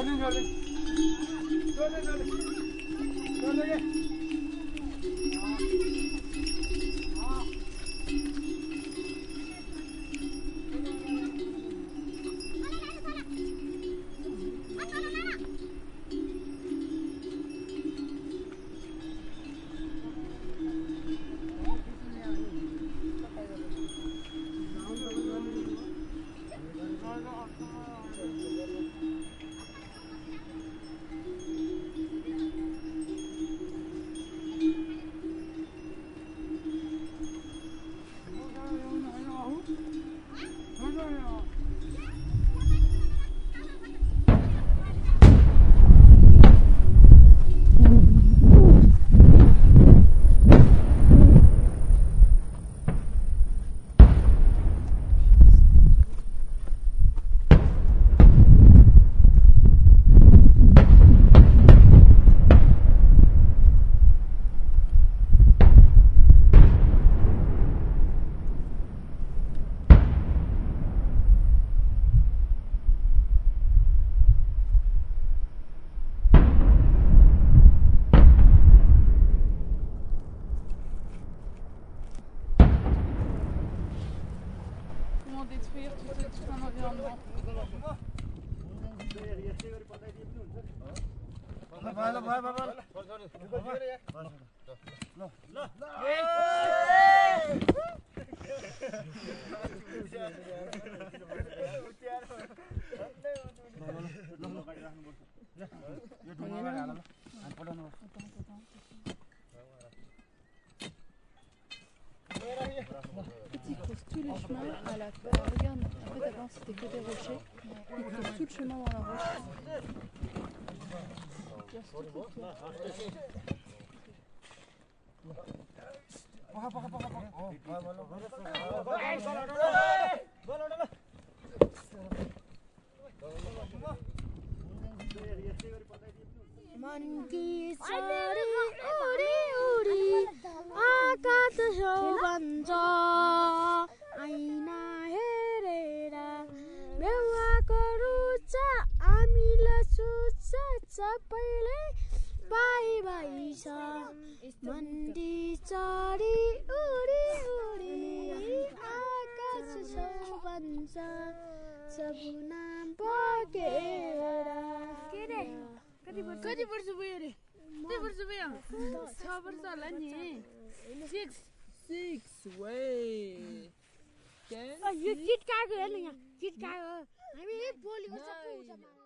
Détruire tout un environnement. Ils creusent tous les chemins à la fois. Regarde, en fait avant c'était que des rochers. Ils creusent tout le chemin dans la roche. मन की चरी उडी उडी आकाश छेउ बन्छ ऐना हेरेर बेहुवाको रुच हामीलाई सुन्छ सबैले बाई बाई छ मन्दी चरी उडी उडी आकाश छेउ बन्छ सपना बगेर के रे कति वर्ष भयो रे? कति वर्ष भयो? 6 वर्ष होला नि। 6 वे यो किट कागो हेर्नु यहाँ किट कागो हामी बोलेको सबै